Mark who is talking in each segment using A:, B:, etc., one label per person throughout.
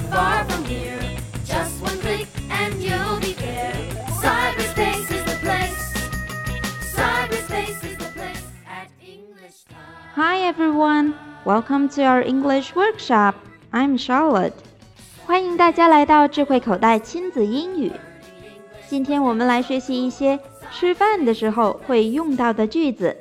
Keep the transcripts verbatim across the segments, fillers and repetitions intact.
A: far from here. Just one click and you'll be there. Cyberspace is the place. Cyberspace is the place at English Time.
B: Hi everyone, welcome to our English workshop. I'm Charlotte. 欢迎大家来到智慧口袋亲子英语。今天我们来学习一些吃饭的时候会用到的句子。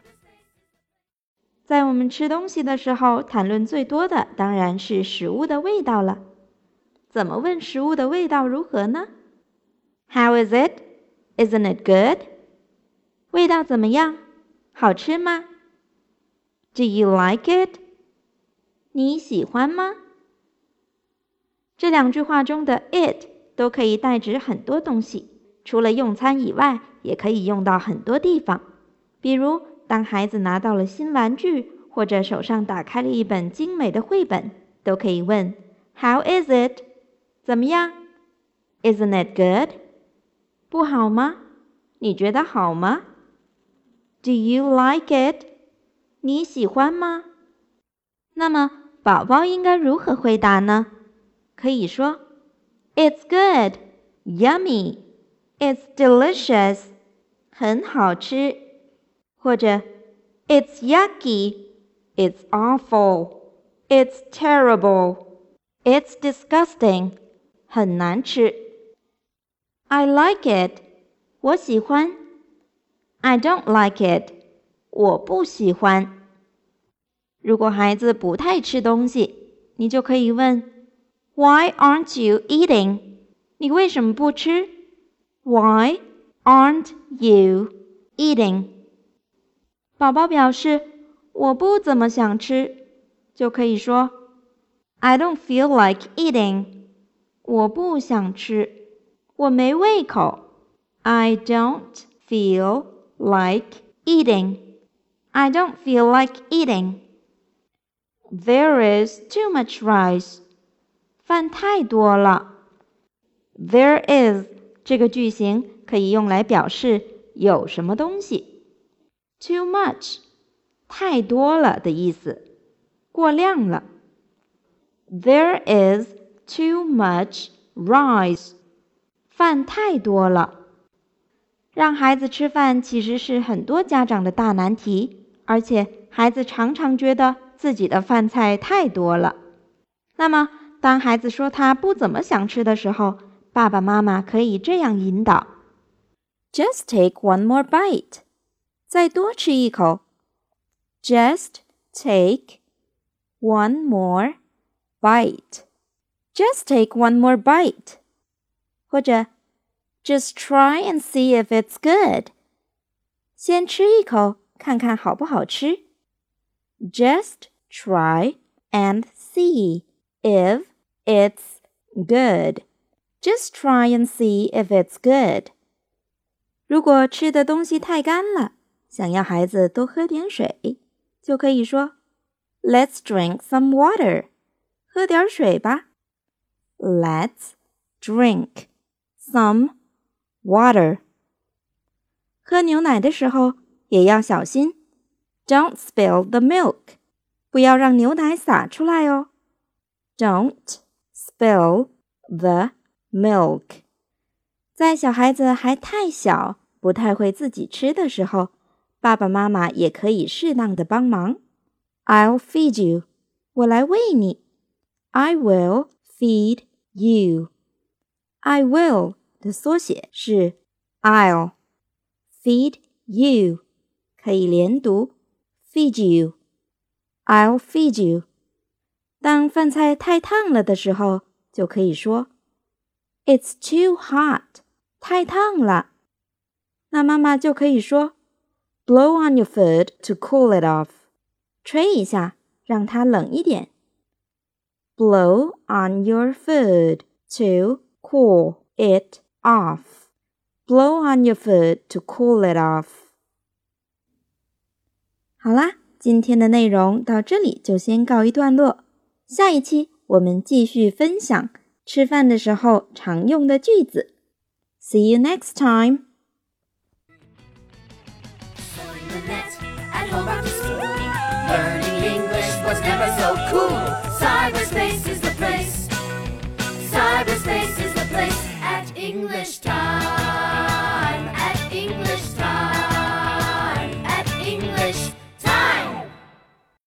B: 在我们吃东西的时候，谈论最多的当然是食物的味道了。怎么问食物的味道如何呢？ How is it? Isn't it good? 味道怎么样？好吃吗？ Do you like it? 你喜欢吗？这两句话中的 it 都可以代指很多东西，除了用餐以外，也可以用到很多地方。比如当孩子拿到了新玩具，或者手上打开了一本精美的绘本，都可以问 How is it? 怎么样？ Isn't it good? 不好吗？你觉得好吗？ Do you like it? 你喜欢吗？那么宝宝应该如何回答呢？可以说 It's good, yummy, it's delicious, 很好吃，或者 It's yucky, it's awful, it's terrible, it's disgusting, 很难吃。I like it, 我喜欢。I don't like it, 我不喜欢。如果孩子不太吃东西，你就可以问 Why aren't you eating? 你为什么不吃？ Why aren't you eating? 宝宝表示我不怎么想吃，就可以说 I don't feel like eating. 我不想吃，我没胃口。I don't feel like eating. I don't feel like eating. There is too much rice. 饭太多了。There is 这个句型可以用来表示有什么东西。Too much 太多了的意思，过量了。There is too much rice. 饭太多了。让孩子吃饭其实是很多家长的大难题，而且孩子常常觉得自己的饭菜太多了。那么当孩子说他不怎么想吃的时候，爸爸妈妈可以这样引导 Just take one more bite. 再多吃一口。Just take one more bite. Just take one more bite. 或者 Just try and see if it's good. 先吃一口，看看好不好吃。Just try and see if it's good. Just try and see if it's good. 如果吃的东西太干了，想要孩子多喝点水，就可以说 Let's drink some water. 喝点水吧。Let's drink some water. 喝牛奶的时候也要小心。Don't spill the milk. 不要让牛奶洒出来哦。Don't spill the milk. 在小孩子还太小，不太会自己吃的时候，爸爸妈妈也可以适当的帮忙。I'll feed you. 我来喂你。I will feed you. I will 的缩写是 I'll. Feed you 可以连读 feed you. I'll feed you. 当饭菜太烫了的时候，就可以说 It's too hot. 太烫了。那妈妈就可以说 Blow on your food to cool it off. 吹一下，让它冷一点。Blow on your food to cool it off. Blow on your food to cool it off. 好啦，今天的内容到这里就先告一段落。下一期我们继续分享吃饭的时候常用的句子。See you next time.
A: Surfing the net at home back to school. Learning English was never so cool. Cyberspace is the place. English time.